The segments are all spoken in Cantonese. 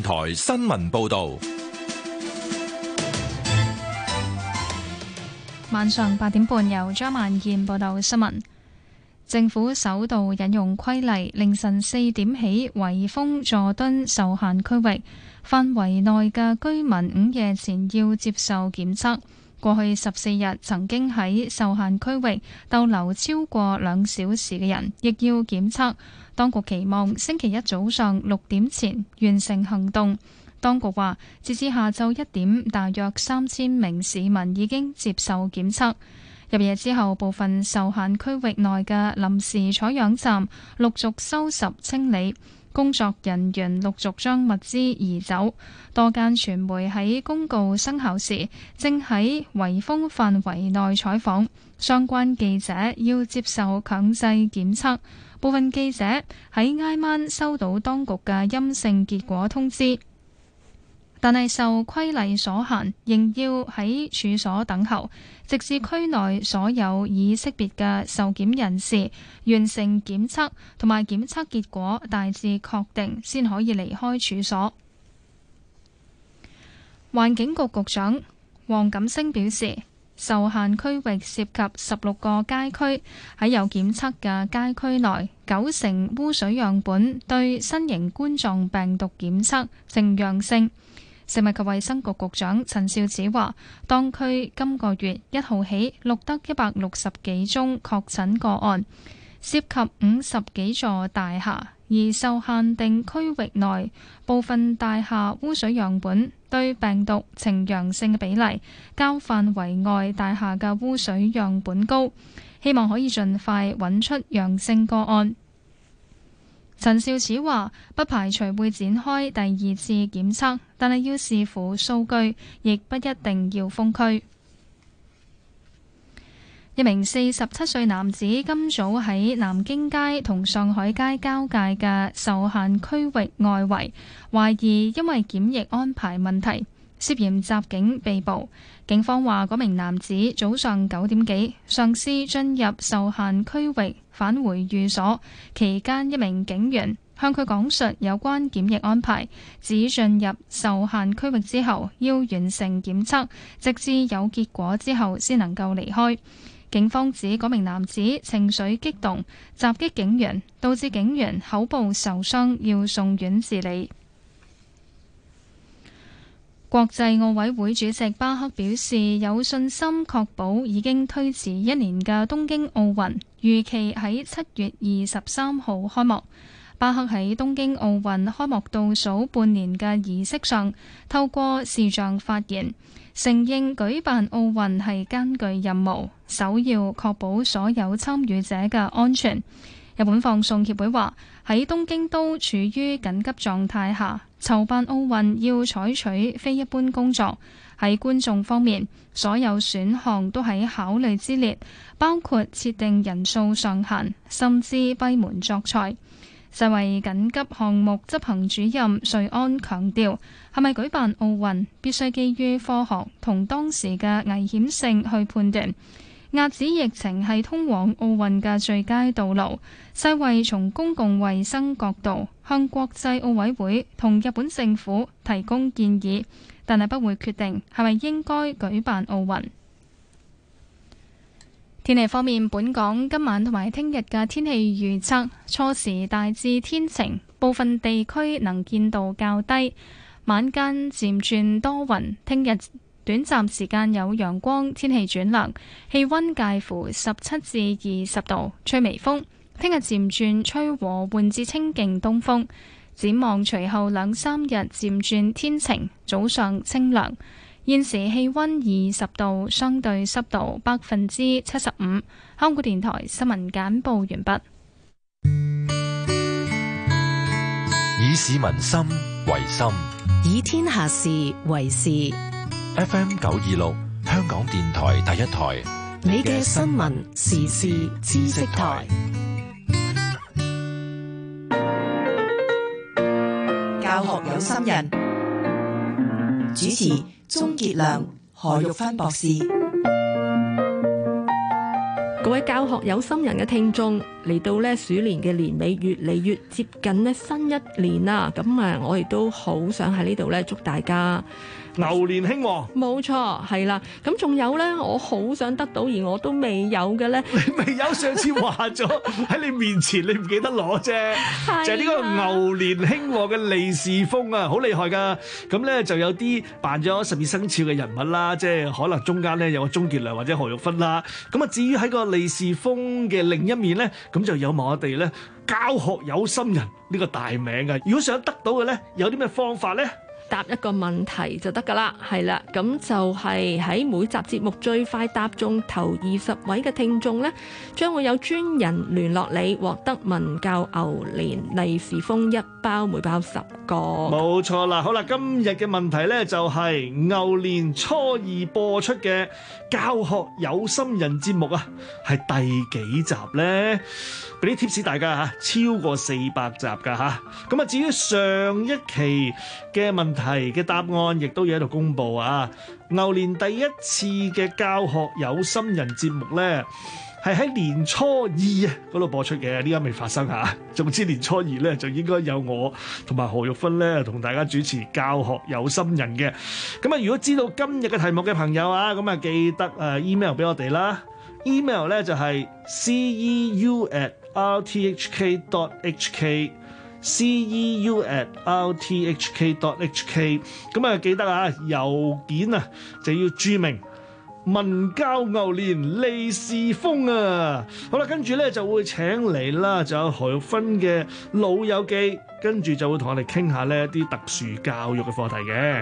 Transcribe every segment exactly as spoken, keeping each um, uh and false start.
台新聞報道。 晚上八點半，由張萬燕報道新聞。政府首度引用規例，凌晨四點起圍封佐敦受限區域，範圍內嘅居民午夜前要接受檢測。過去十四日曾經喺受限區域逗留超過兩小時嘅人，亦要檢測。當局期望星期一早上六點前完成行動。當局話，截至下晝一點，大約三千名市民已經接受檢測。入夜之後，部分受限區域內嘅臨時採樣站陸續收拾清理，工作人員陸續將物資移走。多間傳媒喺公告生效時，正喺圍封範圍內採訪，相關記者要接受強制檢測。部分記者喺挨晚收到當局嘅陰性結果通知，但係受規例所限，仍要喺處所等候，直至區內所有已識別嘅受檢人士完成檢測同埋檢測結果大致確定，先可以離開處所。環境局局長黃錦星表示，受限區域涉及十六個街區，喺有檢測嘅街區內，九成污水樣本對新型冠狀病毒檢測呈陽性。食物及衛生局局長陳肇始話，當區今個月一號起錄得一百六十幾宗確診個案，涉及五十幾座大廈，而受限定區域內部分大廈污水樣本對病毒呈陽性嘅比例，較範圍外大廈嘅污水樣本高，希望可以盡快揾出陽性個案。陳肇始話，不排除會展開第二次檢測，但係要視乎數據，亦不一定要封區。一名四十七歲男子今早喺南京街同上海街交界嘅受限區域外圍，懷疑因為檢疫安排問題，涉嫌襲警被捕。警方話，嗰名男子早上九點幾嘗試進入受限區域返回寓所，期間一名警員向佢講述有關檢疫安排，指進入受限區域之後要完成檢測，直至有結果之後先能夠離開。警方指嗰名男子情緒激動，襲擊警員，導致警員口部受傷，要送院治理。國際奧委會主席巴克表示，有信心確保已經推遲一年嘅東京奧運預期喺七月二十三號開幕。巴克喺東京奧運開幕倒數半年嘅儀式上，透過視像發言，承認舉辦奧運係艱巨任務，首要確保所有參與者嘅安全。日本放送協會話，喺東京都處於緊急狀態下，籌辦奧運要採取非一般工作。喺觀眾方面，所有選項都喺考慮之列，包括設定人數上限，甚至閉門作賽。世衛緊急項目執行主任瑞安強調，係咪舉辦奧運必須基於科學同當時嘅危險性去判斷。遏止疫情係通往奧運嘅最佳道路。世衛從公共衛生角度向國際奧委會同日本政府提供建議，但係不會決定係咪應該舉辦奧運。天氣方面，本港今晚同埋聽日嘅天氣預測，初時大致天晴，部分地區能見度較低，晚間漸轉多雲。聽日短暫時間有陽光，天氣轉涼，氣溫介乎十七至二十度，吹微風。聽日漸轉吹和緩至清勁東風。展望隨後兩三日漸轉天晴，早上清涼。現時氣溫二十度，相對濕度百分之七十五。香港電台新聞簡報完畢。 以市民心為心， 以天下事為事。 F M 九二六，香港電台第一台， 你嘅新聞時事知識台。教學有心人，主持鍾傑良、何玉芬博士。 各位教學有心人嘅聽眾， 嚟到咧鼠年嘅年尾，越嚟越接近咧新一年啦。咁啊，我亦都好想喺呢度咧祝大家牛年興旺。冇錯，係啦。咁仲有咧，我好想得到而我都未有嘅咧， 你未有？上次話咗喺你面前，你唔記得攞啫，就係呢個牛年興旺嘅利是封啊，好厲害噶。咁咧就有啲扮咗十二生肖嘅人物啦，即係可能中間咧有個鍾傑良或者何玉芬啦。咁啊，至於喺個利是封嘅另一面咧，咁就有埋我哋咧教學有心人呢個大名啊。如果想得到嘅咧，有啲咩方法咧？ 答一個問題就得㗎啦，係啦，咁就係喺每集節目最快答中頭二十位嘅聽眾呢，將會有專人聯絡你，獲得文教牛年利是封一包，每包十個。冇錯啦，好啦，今日嘅問題呢，就係牛年初二播出嘅教學有心人節目啊，係第幾集呢？俾啲 tips 大家嚇，超過四百集㗎嚇。咁啊，至於上一期嘅問題嘅答案，亦都要喺度公佈啊。牛年第一次嘅教學有心人節目咧，係喺年初二啊嗰度播出嘅，呢家未發生嚇。總之年初二咧就應該有我同埋何玉芬咧同大家主持教學有心人嘅。咁啊，如果知道今日嘅題目嘅朋友啊，咁啊記得誒 email 俾我哋啦。email 咧就係 c e u at r t h k dot h k c e u at r t h k dot h k。 咁啊記得啊，郵件啊就要注明文教牛年利是封啊。好啦，跟住咧就會請嚟啦，就有何玉芬嘅老友記，跟住就會同我哋傾下呢一啲特殊教育嘅課題嘅。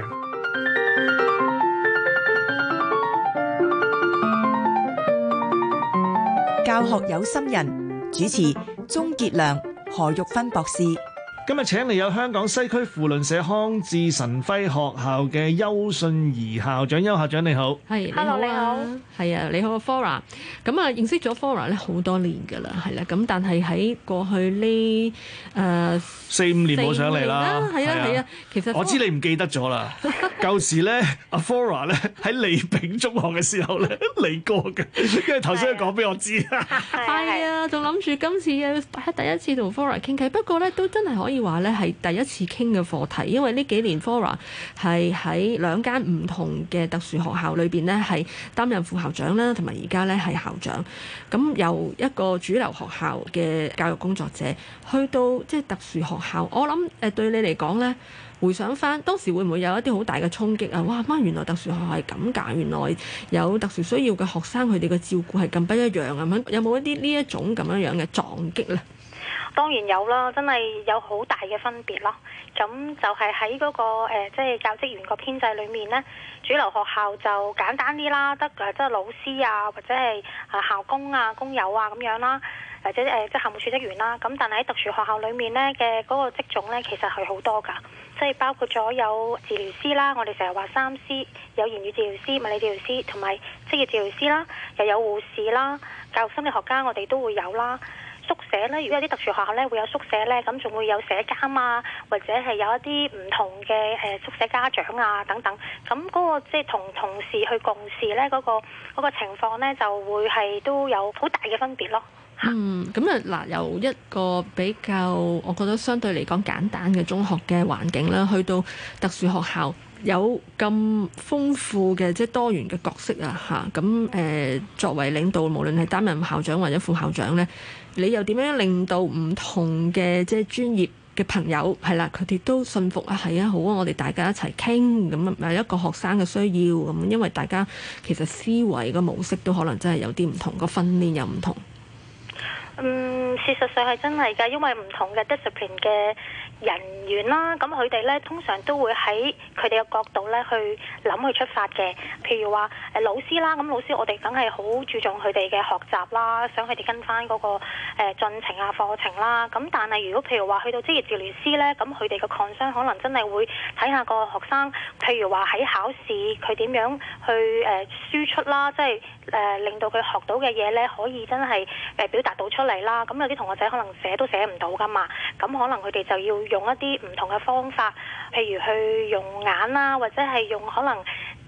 教學有心人，主持鍾傑良、何玉芬博士。 今日請嚟有香港西區扶輪社康智神輝學校嘅邱信儀校長，邱校長你好。 係，Hello，你好。係啊，你好 Flora。咁啊，認識咗 Flora 咧好多年㗎啦，係啦。咁但係喺過去呢誒四五年冇上嚟啦。 係啊係啊，其實我知你唔記得咗啦。舊時咧，阿 Flora 咧喺利炳中學嘅時候咧嚟過嘅，因為頭先佢講俾我知。 係啊，仲諗住今次喺第一次同 Flora 傾偈，不過咧都真係可以話咧係第一次傾嘅課題，因為呢幾年 Flora 係喺兩間唔同嘅特殊學校裏邊咧係擔任副校長啦，同埋而家咧係校長。咁由一個主流學校嘅教育工作者去到即係特殊學校，我諗誒對你嚟講咧，回想翻當時會唔會有一啲好大嘅衝擊啊？哇！媽，原來特殊學校係咁㗎，原來有特殊需要嘅學生佢哋嘅照顧係咁不一樣啊！有冇一啲呢一種咁樣樣嘅撞擊咧？ 當然有啦，真係有好大嘅分別咯。咁就係喺嗰個誒，即係教職員個編制裏面呢，主流學校就簡單啲啦，得誒即係老師啊，或者係啊校工啊、工友啊咁樣啦，或者誒即係校務處職員啦。咁但係喺特殊學校裏面呢嘅嗰個職種呢，其實係好多㗎，即係包括咗有治療師啦，我哋成日話三 C， 有言語治療師、物理治療師同埋職業治療師啦，又有護士啦、教育心理學家，我哋都會有啦。宿舍咧，如果有啲特殊學校咧會有宿舍咧，咁仲會有社監啊，或者係有一啲唔同嘅誒宿舍家長啊等等，咁嗰個即係同同事去共事咧，嗰個嗰個情況咧就會係都有好大嘅分別咯。 嗯，咁啊嗱，由一個比較我覺得相對嚟講簡單嘅中學嘅環境啦，去到特殊學校有咁豐富嘅即係多元嘅角色啊嚇，咁誒作為領導，無論係擔任校長或者副校長咧，你又點樣令到唔同嘅即係專業嘅朋友係啦，佢哋都信服啊，係啊，好啊，我哋大家一齊傾咁啊，一個學生嘅需要咁，因為大家其實思維嘅模式都可能真係有啲唔同，個訓練又唔同。 嗯，事實上係真係㗎，因為唔同嘅 discipline 嘅人員啦，咁佢哋咧通常都會喺佢哋嘅角度咧去諗去出發嘅。譬如話誒老師啦，咁老師我哋梗係好注重佢哋嘅學習啦，想佢哋跟翻嗰個誒進程啊課程啦。咁但係如果譬如話去到職業治療師咧，咁佢哋嘅 concern 可能真係會睇下個學生，譬如話喺考試佢點樣去誒輸出啦，即係誒令到佢學到嘅嘢咧可以真係誒表達到出嚟啦。咁有啲同學仔可能寫都寫唔到噶嘛，咁可能佢哋就要用一啲唔同嘅方法，譬如去用眼啦，或者係用可能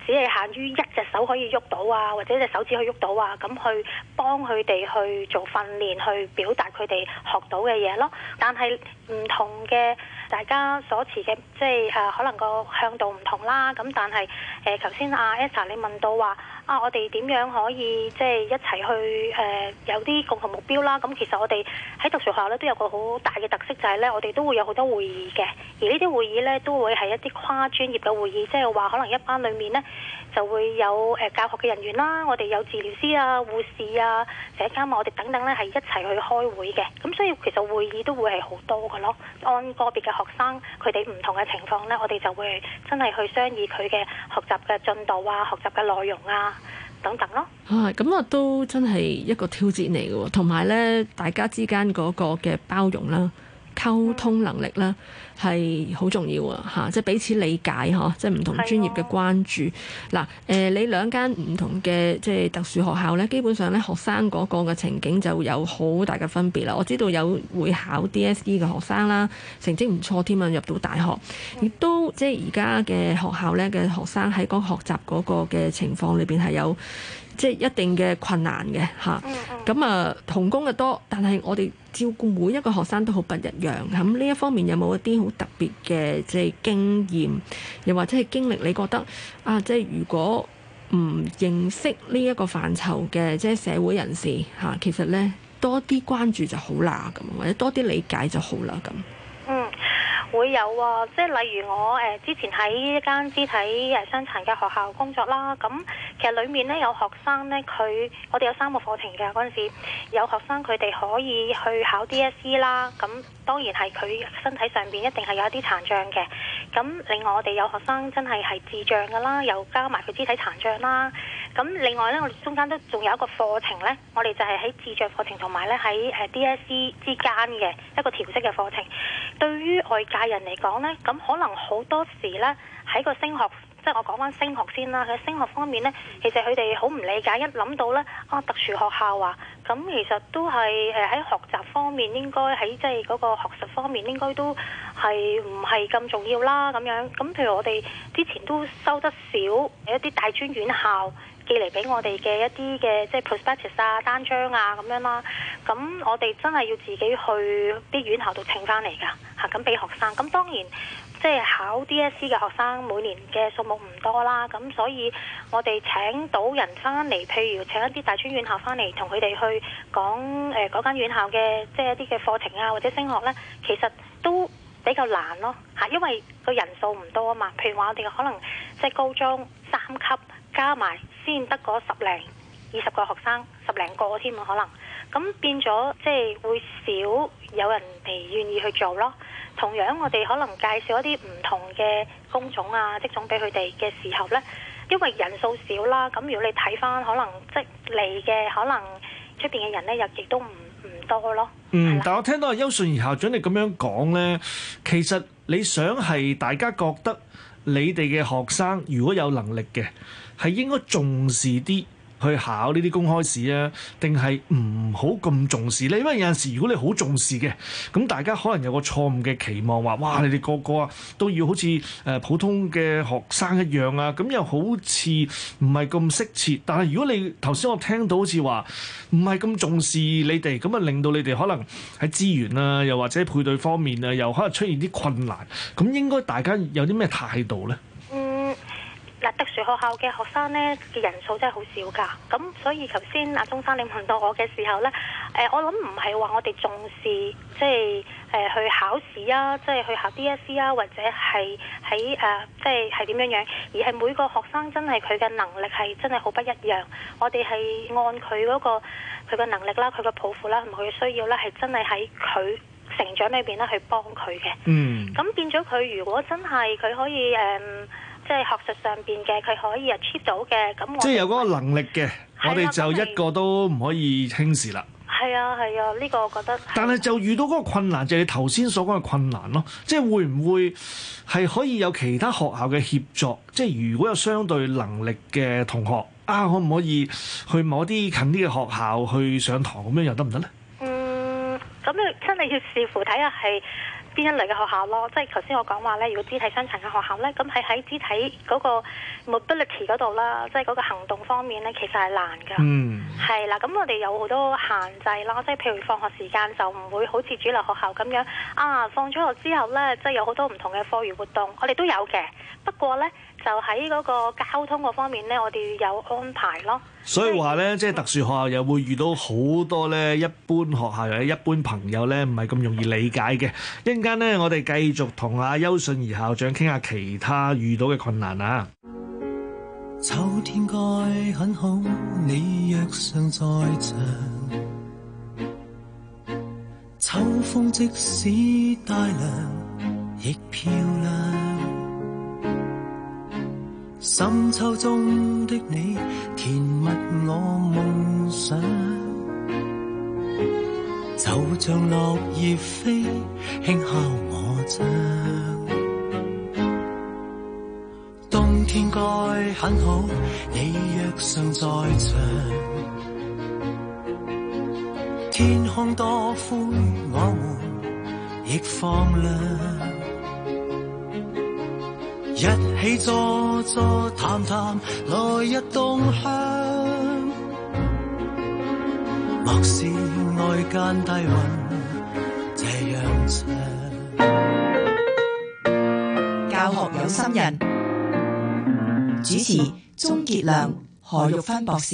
只係限於一隻手可以喐到啊，或者一隻手指可以喐到啊，咁去幫佢哋去做訓練，去表達佢哋學到嘅嘢咯。但係唔同嘅大家所持嘅，即係誒、呃、可能個向度唔同啦。咁但係誒頭先阿 Esther 你問到話啊，我哋點樣可以即係一齊去誒、呃、有啲共同目標啦？咁其實我哋喺特殊學校咧都有個好大嘅特色，就係咧我哋都會有好多會議嘅，而呢啲會議咧都會係一啲跨專業嘅會議，即係話可能一班裡面呢就會有誒教學嘅人員啦，我哋有治療師啊、護士啊、社監啊，我哋等等咧係一齊去開會嘅。咁所以其實會議都會係好多嘅咯。按個別嘅學生佢哋唔同嘅情況咧，我哋就會真係去商議佢嘅學習嘅進度啊、學習嘅內容啊等等咯。 啊，咁啊都真係一個挑戰嚟嘅喎，同埋咧大家之間嗰個嘅包容啦、溝通能力啦係好重要啊！嚇，即係彼此理解嗬，即係唔同專業嘅關注。嗱，誒、呃，你兩間唔同嘅即係特殊學校咧，基本上咧學生嗰個嘅情景就有好大嘅分別啦。我知道有會考 D S E 嘅學生啦，成績唔錯添啊，入到大學，亦都即係而家嘅學校咧嘅學生喺嗰學習嗰個嘅情況裏邊係有即係一定嘅困難嘅嚇。咁啊，同工嘅多，但係我哋照顧每一個學生都好不一樣。咁呢一方面有冇一啲好特別嘅即係經驗，又或者係經歷？你覺得啊，即係如果唔認識呢一個範疇嘅即係社會人士嚇、啊，其實咧多啲關注就好啦，咁或者多啲理解就好啦，咁。 嗯。會有啊，即係例如我誒、呃、之前喺一間肢體誒傷殘嘅學校工作啦，咁其實裡面咧有學生咧，佢我哋有三個課程嘅嗰陣時，有學生佢哋可以去考 D S E 啦，咁當然係佢身體上邊一定係有一啲殘障嘅，咁另外我哋有學生真係係智障㗎啦，又加埋佢肢體殘障啦，咁另外咧我哋中間都仲有一個課程咧，我哋就係喺智障課程同埋咧喺誒 D S E 之間嘅一個調適嘅課程，對於外界人嚟講呢，咁可能好多時呢，喺個升學，即係我講翻升學先啦。喺升學方面呢，其實佢哋好唔理解，一諗到呢，啊特殊學校啊，咁其實都係誒喺學習方面應該喺即係嗰個學術方面應該都係唔係咁重要啦咁樣。咁譬如我哋之前都收得少一啲大專院校寄嚟俾我哋嘅一啲嘅即係 prospectus 啊、單張啊咁樣啦，咁我哋真係要自己去啲院校度請翻嚟㗎嚇，咁俾學生。咁當然即係考 D S E 嘅學生每年嘅數目唔多啦，咁所以我哋請到人翻嚟，譬如請一啲大專院校翻嚟，同佢哋去講誒嗰間院校嘅即係一啲嘅課程啊或者升學呢，其實都比較難咯嚇，因為個人數唔多啊嘛。譬如話我哋可能即係高中三級加埋先得嗰十零二十個學生，十零個添啊可能，咁變咗即係會少有人哋願意去做咯。同樣我哋可能介紹一啲唔同嘅工種啊職種俾佢哋嘅時候呢，因為人數少啦，咁如果你睇翻可能即嚟嘅可能出邊嘅人呢，又亦都唔唔多咯。 嗯，但我聽到阿邱順儀校長你咁樣講呢，其實你想係大家覺得你哋嘅學生如果有能力嘅，係應該重視啲去考呢啲公開試啊，定係唔好咁重視呢？因為有陣時如果你好重視嘅，咁大家可能有個錯誤嘅期望，話哇你哋個個啊都要好似誒普通嘅學生一樣啊，咁又好似唔係咁適切。但係如果你頭先我聽到好似話唔係咁重視你哋，咁啊令到你哋可能喺資源啊，又或者配對方面啊，又可能出現啲困難，咁應該大家有啲咩態度呢？ 嗱，特殊學校嘅學生呢嘅人數真係好少㗎，咁所以頭先阿鐘生你問到我嘅時候呢，誒、呃、我諗唔係話我哋重視即係誒、呃、去考試啊，即係去考 D S E 啊，或者係喺誒即係係點樣樣，而係每個學生真係佢嘅能力係真係好不一樣，我哋係按佢嗰、嗰個佢嘅能力啦、佢嘅抱負啦同埋佢嘅需要咧，係真係喺佢成長裏邊咧去幫佢嘅。嗯，咁變咗佢如果真係佢可以誒。呃即係學術上邊嘅，佢可以 achieve 到嘅，咁我即係有嗰個能力嘅，我哋就一個都唔可以輕視啦。 係啊係啊，呢、呢個我覺得。 但係就遇到嗰個困難，就係、是、你頭先所講嘅困難咯。即係會唔會係可以有其他學校嘅協助？即係如果有相對能力嘅同學啊，可唔可以去某啲近啲嘅學校去上堂咁樣又得唔得咧？ 嗯，咁你真係要視乎睇下係。 邊一類嘅學校咯。即係頭先我講話咧，如果肢體傷殘嘅學校咧，咁係喺肢體嗰個 mobility 嗰度啦，即係嗰個行動方面咧，其實係難㗎。 嗯， 係啦，咁我哋有好多限制啦，即係譬如放學時間就唔會好似主流學校咁樣啊，放咗學之後咧，即係有好多唔同嘅課餘活動，我哋都有嘅。不過咧，就喺嗰個交通嗰方面咧，我哋有安排咯。 所以話咧，即係特殊學校又會遇到好多咧，一般學校或者一般朋友咧，唔係咁容易理解嘅。一陣間咧，我哋繼續同阿邱信儀校長傾下其他遇到嘅困難啊。 秋天該很好，你若尚在場，秋風即使帶涼亦漂亮。深秋中的你，填密我夢想，就像落葉飛，輕敲我窗。冬天該很好，你若尚在場，天空多灰，我們亦放亮。一起坐坐談談，來日動向。莫視外間低溫這樣長。 教學有心人，主持鍾傑良、何玉芬博士。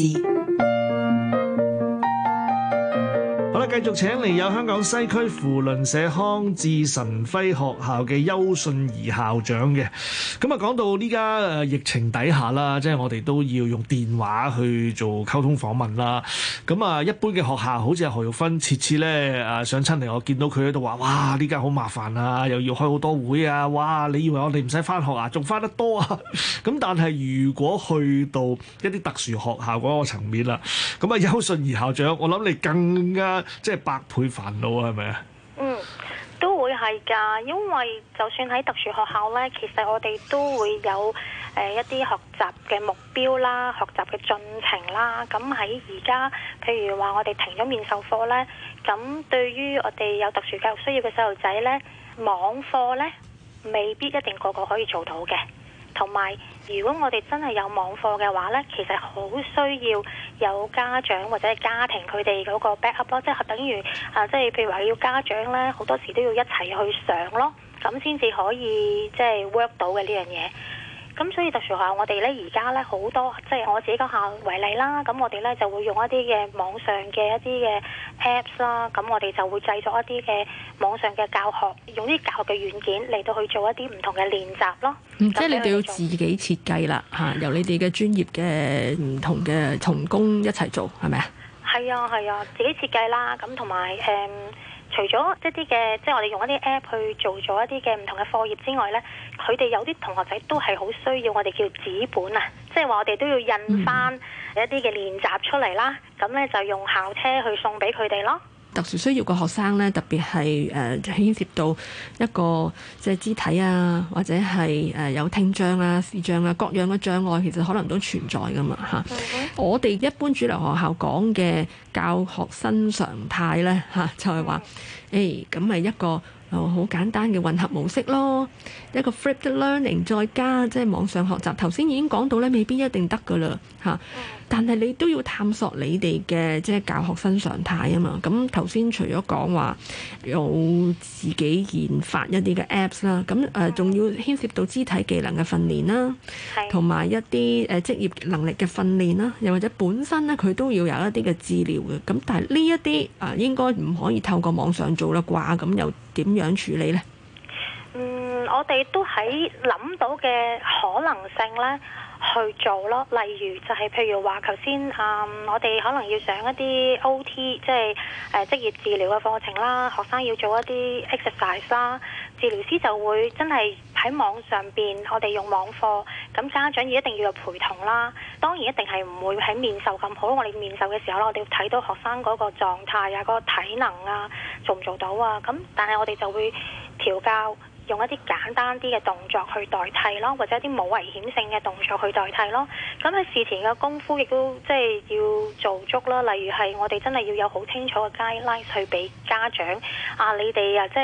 好啦，繼續請嚟有香港西區扶輪社康智神輝學校嘅邱信儀校長嘅。咁啊，講到呢家誒疫情底下啦，即係我哋都要用電話去做溝通訪問啦。咁啊，一般嘅學校好似阿何玉芬，次次咧誒上親嚟，我見到佢喺度話：哇，呢家好麻煩啊，又要開好多會啊！哇，你以為我哋唔使返學啊？仲返得多啊！咁但係如果去到一啲特殊學校嗰個層面啦，咁啊，邱信儀校長，我諗你更加即係百倍煩惱啊，係咪啊？ 嗯，都會係㗎，因為就算喺特殊學校呢，其實我哋都會有誒、呃、一啲學習嘅目標啦、學習嘅進程啦。咁喺而家，譬如話我哋停咗面授課呢，咁對於我哋有特殊教育需要嘅細路仔呢，網課呢未必一定個個可以做到嘅。同埋，如果我哋真係有網課嘅話呢，其實好需要有家長或者係家庭佢哋嗰個 backup 咯，即係等於啊，即係譬如話要家長呢，好多時都要一齊去上咯，咁先至可以即係 work 到嘅呢樣嘢。咁所以特殊學校我哋咧而家咧好多，即係我自己間校為例啦，咁我哋咧就會用一啲嘅網上嘅一啲嘅 apps 啦，咁我哋就會製作一啲嘅網上嘅教學，用啲教學嘅軟件嚟到去做一啲唔同嘅練習咯。 嗯，即係你哋要自己設計啦，嚇，由你哋嘅專業嘅唔同嘅同工一齊做，係咪啊？ 係啊係啊，自己設計啦，咁同埋誒。除咗一啲嘅，即係我哋用一啲 app 去做咗一啲嘅唔同嘅課業之外呢，佢哋有啲同學仔都係好需要我哋叫紙本啊，即係話我哋都要印翻一啲嘅練習出嚟啦，咁呢就用校車去送俾佢哋咯。 特殊需要嘅學生咧，特別係誒牽涉到一個即係肢體啊，或者係誒有聽障啊、視障啊各樣嘅障礙，其實可能都存在噶嘛嚇。Mm-hmm. 我哋一般主流學校講嘅教學新常態咧嚇，就係話誒咁咪一個好簡單嘅混合模式咯，一個 flipped learning 再加即係網上學習。頭先已經講到咧，未必一定得噶啦嚇。但係你都要探索你哋嘅即係教學新常態啊嘛。咁頭先除咗講話有自己研發一啲嘅 apps 啦，咁誒仲要牽涉到肢體技能嘅訓練啦，同埋一啲誒職業能力嘅訓練啦，又或者本身咧佢都要有一啲嘅治療嘅。咁但係呢一啲啊應該唔可以透過網上做啦啩？咁又點樣處理呢？ 嗯，我哋都喺諗到嘅可能性咧。去做咯，例如就係譬如話頭先，嗯，我哋可能要上一啲 O T， 即係誒職業治療嘅課程啦，學生要做一啲 exercise 啦，治療師就會真係喺網上邊，我哋用網課，咁家長要一定要有陪同啦。當然一定係唔會喺面授咁好，我哋面授嘅時候咧，我哋要睇到學生嗰個狀態啊，嗰個體能啊，做唔做到啊？咁但係我哋就會調教。用一啲簡單啲嘅動作去代替咯，或者一啲冇危險性嘅動作去代替咯。咁喺事前嘅功夫亦都即係要做足啦。例如係我哋真係要有好清楚嘅 guideline 去俾家長啊，你哋啊即係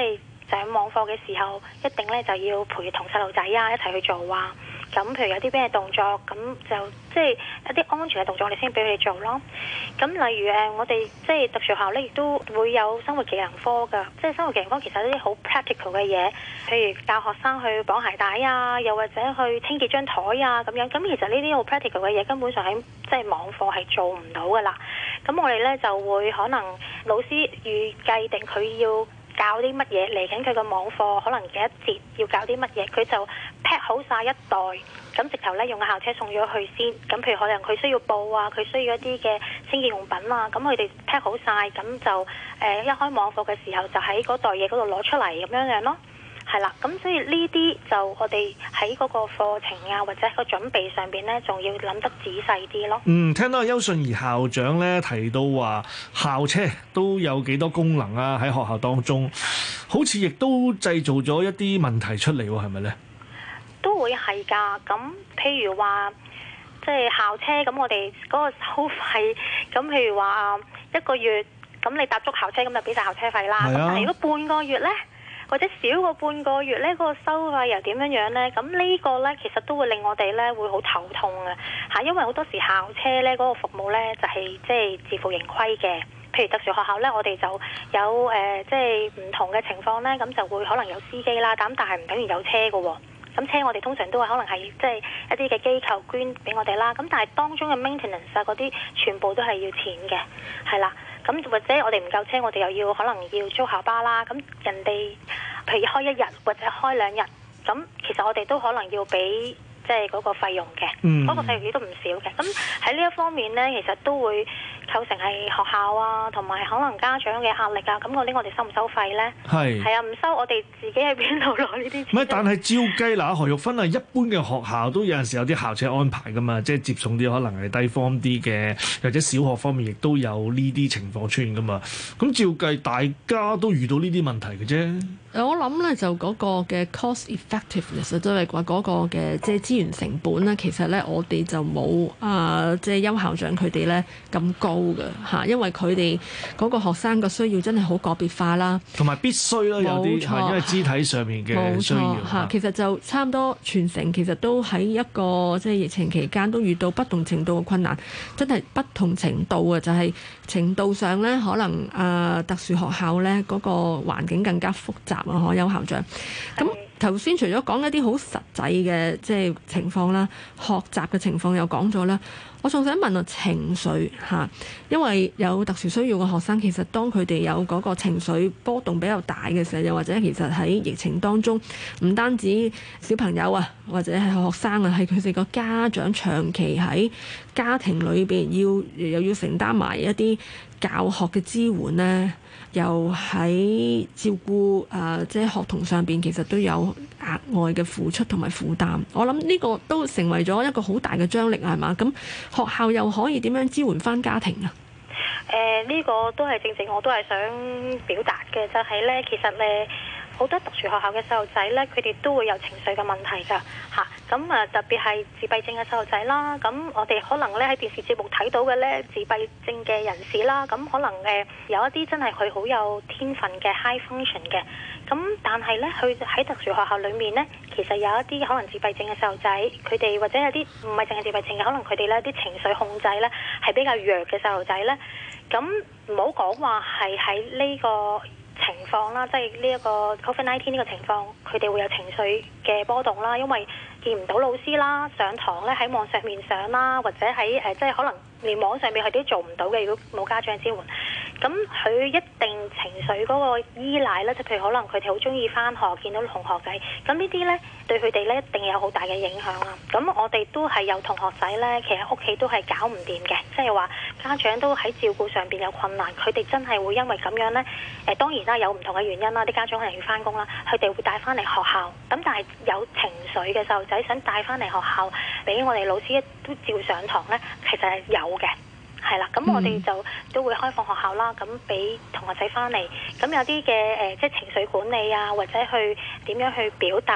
上網課嘅時候，一定咧就要陪同細路仔啊一齊去做啊。咁譬如有啲咩動作，咁就即係一啲安全嘅動作，我哋先俾佢哋做咯。咁例如誒，我哋即係特殊學校咧，亦都會有生活技能科㗎。即係生活技能科其實一啲好 practical 嘅嘢，譬如教學生去綁鞋帶啊，又或者去清潔張台啊咁樣。咁其實呢啲好 practical 嘅嘢，根本上喺即係網課係做唔到㗎啦。咁我哋咧就會可能老師預計定佢要教啲乜嘢嚟緊佢個網課，可能幾一節要教啲乜嘢，佢就 pack 好晒一袋，咁直頭咧用個校車送咗去先。咁譬如可能佢需要布啊，佢需要一啲嘅清潔用品啊，咁佢哋 pack 好晒，咁就誒、呃、一開網課嘅時候就喺嗰袋嘢嗰度攞出嚟咁樣樣咯。係啦，咁所以呢啲就我哋喺嗰個課程啊，或者個準備上邊咧，仲要諗得仔細啲咯。 嗯，聽到邱信儀校長咧提到話校車都有幾多功能啊，喺學校當中，好似亦都製造咗一啲問題出嚟喎，係咪咧？ 都會係㗎。咁譬如話，即係校車，咁我哋嗰個收費，咁譬如話一個月，咁你搭足校車，咁就俾晒校車費啦。咁、啊、但係如果半個月咧？或者少過半個月呢，嗰、嗰個收費又點樣樣呢？咁呢個呢，其實都會令我哋呢會好頭痛嘅嚇，因為好多時校車呢嗰、嗰個服務呢，就係即係自負盈虧嘅。譬如特殊學校呢，我哋就有誒即係唔同嘅情況呢，咁就會可能有司機啦，咁但係唔等於有車嘅喎。咁車我哋通常都係可能係即係一啲嘅機構捐俾我哋啦。咁但係當中嘅 maintenance 啊嗰啲全部都係要錢嘅，係啦。咁或者我哋唔夠車，我哋又要可能要租校巴啦。咁人哋譬如開一日或者開兩日，咁其實我哋都可能要俾即係嗰個費用嘅，嗰、嗯、個費用亦都唔少嘅。咁喺呢一方面呢，其實都會構成係學校啊，同埋可能家長嘅壓力啊。咁嗰啲我哋收唔收費呢？係係啊，唔收，我哋自己喺邊度攞呢啲錢？ 唔係，但係照計嗱，何玉芬啊，一般嘅學校都有陣時有啲校車安排噶嘛，即係接送啲可能係低 form 啲嘅，或者小學方面亦都有呢啲情況出現噶嘛。咁照計大家都遇到呢啲問題嘅啫。 我諗咧就嗰個嘅 cost effectiveness， 即係話嗰個嘅即係資源成本咧，其實咧我哋就冇啊，即係邱校長佢哋咧咁高嘅嚇，因為佢哋嗰個學生嘅需要真係好個別化啦，同埋必須啦，有啲係因為肢體上面嘅需要嚇。其實就差唔多全城其實都喺一個即係疫情期間都遇到不同程度嘅困難，真係不同程度啊，就係、是、程度上咧可能啊、呃、特殊學校咧嗰、那個環境更加複雜。啊，邱校長，咁頭先除咗講一啲好實際嘅即係情況啦，學習嘅情況又講咗啦，我仲想問下情緒嚇，因為有特殊需要嘅學生，其實當佢哋有嗰個情緒波動比較大嘅時候，又或者其實喺疫情當中，唔單止小朋友啊，或者係學生啊，係佢哋個家長長期喺家庭裏邊要又要承擔埋一啲教學嘅支援呢，又喺照顧誒即係學童上邊，其實都有額外嘅付出同埋負擔。我諗呢個都成為咗一個好大嘅張力，係嘛？咁學校又可以點樣支援翻家庭啊？ 誒、呃，呢、這個都係正正我都係想表達嘅，就係、是、咧，其實咧。好多特殊學校嘅細路仔呢，佢哋都會有情緒嘅問題㗎嚇。咁啊，特別係自閉症嘅細路仔啦。咁我哋可能咧喺電視節目睇到嘅呢，自閉症嘅人士啦，咁可能誒有一啲真係佢好有天分嘅 high function 嘅。咁但係呢，佢喺特殊學校裡面呢，其實有一啲可能自閉症嘅細路仔，佢哋或者有啲唔係淨係自閉症嘅，可能佢哋呢啲情緒控制呢係比較弱嘅細路仔呢。咁唔好講話係喺呢個情況啦，即係呢一個 COVID 十九 呢個情況，佢哋會有情緒嘅波動啦，因為見唔到老師啦，上堂咧喺網上面上啦，或者喺誒、呃、即係可能連網上面佢哋都做唔到嘅，如果冇家長支援，咁佢一定情緒嗰個依賴咧，即譬如可能佢哋好中意返學，見到同學仔，咁呢啲咧對佢哋咧一定有好大嘅影響啦。咁我哋都係有同學仔咧，其實屋企都係搞唔掂嘅，即係話家長都喺照顧上邊有困難，佢哋真係會因為咁樣咧，誒、呃、當然啦有唔同嘅原因啦，啲家長可能要返工啦，佢哋會帶返嚟學校，咁但係有情緒嘅細路仔想帶返嚟學校俾我哋老師都照上堂咧，其實係有嘅。係啦，咁我哋就都會開放學校啦，咁俾同學仔翻嚟，咁有啲嘅誒，即係情緒管理啊，或者去點樣去表達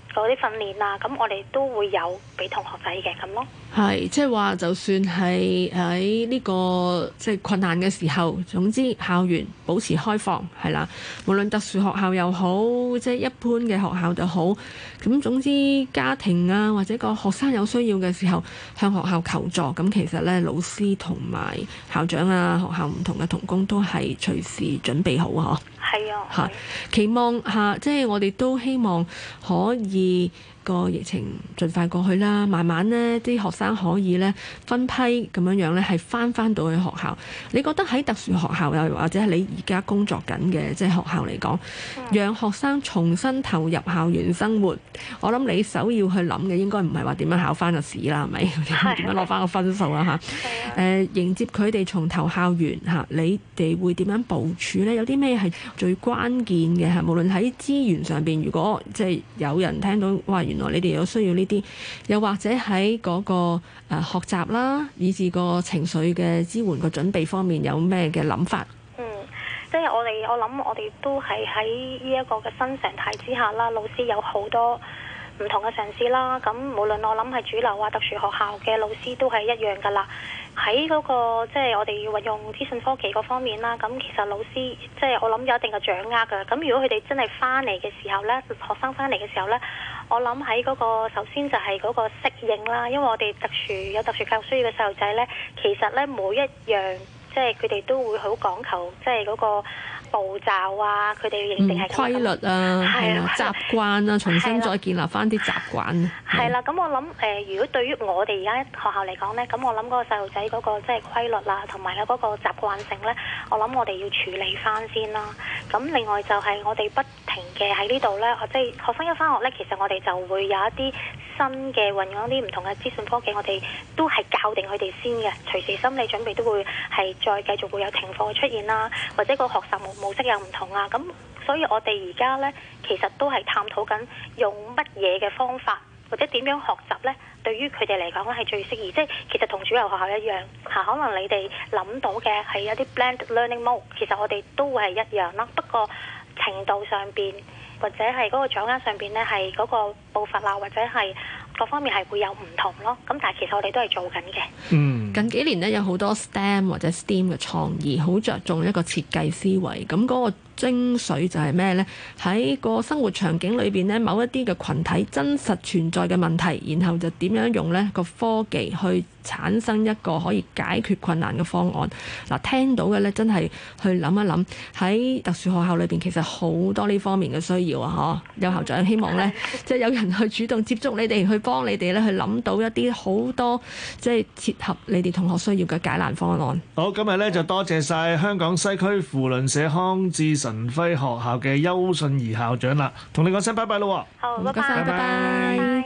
嗰啲訓練啊，咁我哋都會有俾同學仔嘅咁咯。 係，即係話就算係喺呢個即係困難嘅時候，總之校園保持開放係啦，無論特殊學校又好，即係一般嘅學校就好，咁總之家庭啊或者個學生有需要嘅時候向學校求助，咁其實咧老師同埋校長啊學校唔同嘅同工都係隨時準備好啊。 係啊， 嚇，期望下，即係我哋都希望可以個疫情盡快過去啦，慢慢呢啲學生可以呢分批咁樣樣呢係翻翻到去學校。你覺得喺特殊學校又或者係你而家工作緊嘅即係學校嚟講，讓學生重新投入校園生活，我諗你首要去諗嘅應該唔係話點樣考翻個試啦，係咪？點樣攞翻個分數啊？嚇，誒迎接佢哋重投校園嚇，你哋會點樣部署呢？有啲咩係最關鍵嘅嚇？無論喺資源上邊，如果即係有人聽到哇，原來你哋有需要呢啲，又或者喺嗰個誒學習啦，以至個情緒嘅支援個準備方面有咩嘅諗法？ 嗯，即係我哋我諗我哋都係喺呢一個嘅新常態之下啦，老師有好多唔同嘅嘗試啦。咁無論我諗係主流啊、特殊學校嘅老師都係一樣噶啦。喺嗰個即係我哋要運用資訊科技嗰方面啦，咁其實老師即係我諗有一定嘅掌握㗎。咁如果佢哋真係翻嚟嘅時候呢，學生翻嚟嘅時候呢，我諗喺嗰個首先就係嗰個適應啦，因為我哋特殊有特殊教育需要嘅細路仔呢，其實呢每一樣即係佢哋都會好講求即係嗰個步驟啊，佢哋認定係規律啊，係啊，習慣啊，重新再建立翻啲習慣。 係啦，咁我諗誒、呃，如果對於我哋而家學校嚟講呢，咁我諗嗰個細路仔嗰個即係規律啦，同埋咧嗰個習慣性呢，我諗我哋要處理翻先啦。咁另外就係我哋不停嘅喺呢度呢，即係學生一翻學呢，其實我哋就會有一啲新嘅運用一啲唔同嘅資訊科技，我哋都係教定佢哋先嘅，隨時心理準備都會係再繼續會有停課出現啦，或者個學習模模式又唔同啊。咁所以我哋而家呢，其實都係探討緊用乜嘢嘅方法，或者點樣學習呢？對於佢哋嚟講咧係最適宜。即係其實同主流學校一樣嚇，可能你哋諗到嘅係一啲 blend learning mode，其實我哋都會係一樣啦。不過程度上邊或者係嗰個掌握上邊呢，係嗰個步伐啊，或者係各方面係會有唔同咯。咁但係其實我哋都係做緊嘅。 嗯， 近幾年呢，有好多 S T E M 或者 S T E A M 嘅創意，好着重一個設計思維。咁嗰個精髓就係咩呢？喺個生活場景裏邊呢，某一啲嘅群體真實存在嘅問題，然後就點樣用呢個科技去產生一個可以解決困難嘅方案。嗱，聽到嘅呢，真係去諗一諗，喺特殊學校裏邊其實好多呢方面嘅需要啊！嗬，有校長希望呢，即係有人去主動接觸你哋，去幫你哋咧，去諗到一啲好多即係切合你哋同學需要嘅解難方案。 好，今日咧就多謝晒香港西區扶輪社康智神輝學校嘅邱信儀校長啦，同你講聲拜拜咯。 好，拜唔該晒，拜拜。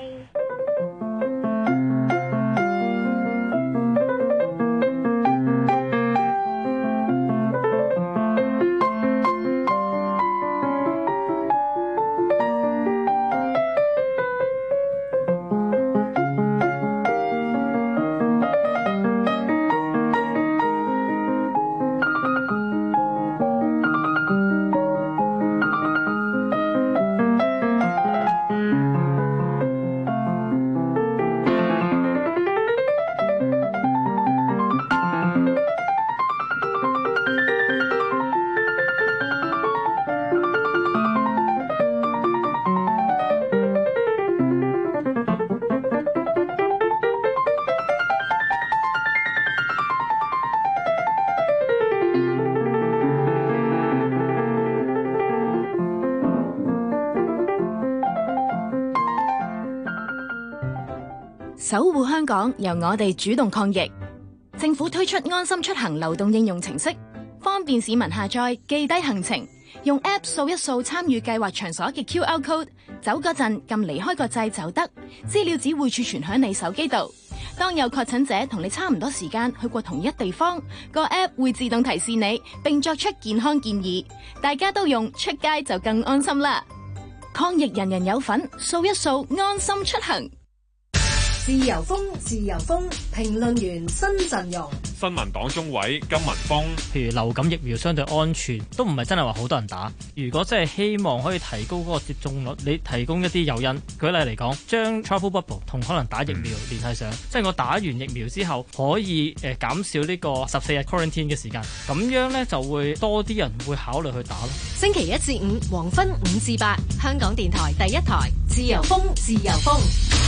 守護香港，由我哋主動抗疫。政府推出安心出行流動應用程式，方便市民下載記低行程，用 App 掃一掃參與計劃場所嘅 Q R code， 走嗰陣撳離開個掣就得，資料只會儲存響你手機度。當有確診者同你差唔多時間去過同一地方，個 App 會自動提示你，並作出健康建議。大家都用，出街就更安心啦！抗疫人人有份，掃一掃安心出行。 自由風，自由風，評論員新陣容。 新民黨中委金文峰， 譬如流感疫苗相對安全，都唔係真係話好多人打。如果真係希望可以提高嗰個接種率，你提供一啲誘因。舉例嚟講，將 travel bubble 同可能打疫苗聯繫上，嗯、即係我打完疫苗之後可以誒、呃、減少呢個十四日 quarantine 嘅時間，咁樣呢就會多啲人會考慮去打咯。 星期一至五黃昏五至八，香港電台第一台，自由風，自由風。